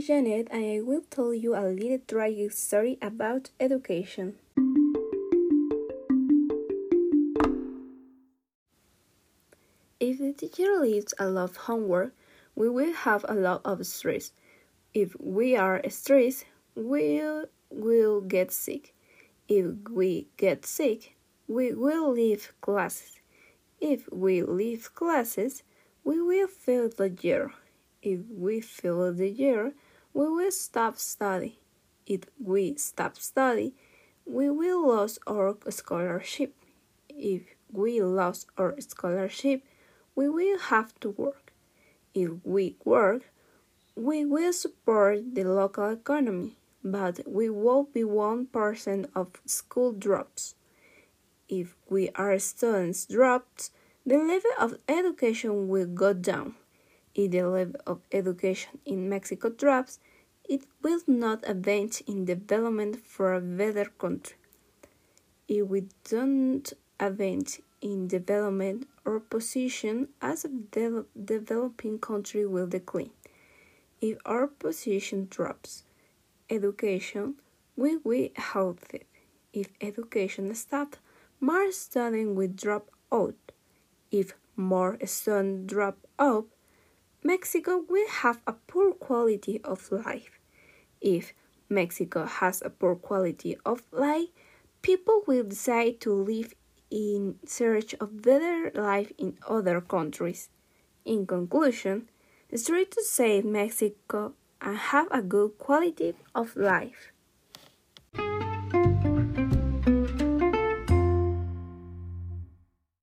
is Janet, and I will tell you a little tragic story about education. If the teacher leaves a lot of homework, we will have a lot of stress. If we are stressed, we will get sick. If we get sick, we will leave classes. If we leave classes, we will fail the year. If we fail the year, we will stop study. If we stop study, we will lose our scholarship. If we lose our scholarship, we will have to work. If we work, we will support the local economy, but we will be 1% of school drops. If we are students drops, the level of education will go down. If the level of education in Mexico drops, it will not advance in development for a better country. If we don't advance in development, our position as a developing country will decline. If our position drops, education will be halted. If education stops, more students will drop out. If more students drop out, Mexico will have a poor quality of life. If Mexico has a poor quality of life, people will decide to live in search of better life in other countries. In conclusion, it's try to save Mexico and have a good quality of life.